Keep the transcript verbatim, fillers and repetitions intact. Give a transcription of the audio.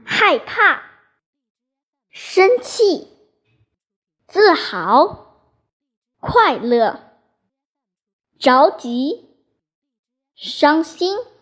害怕、生气、自豪、快乐、着急、伤心。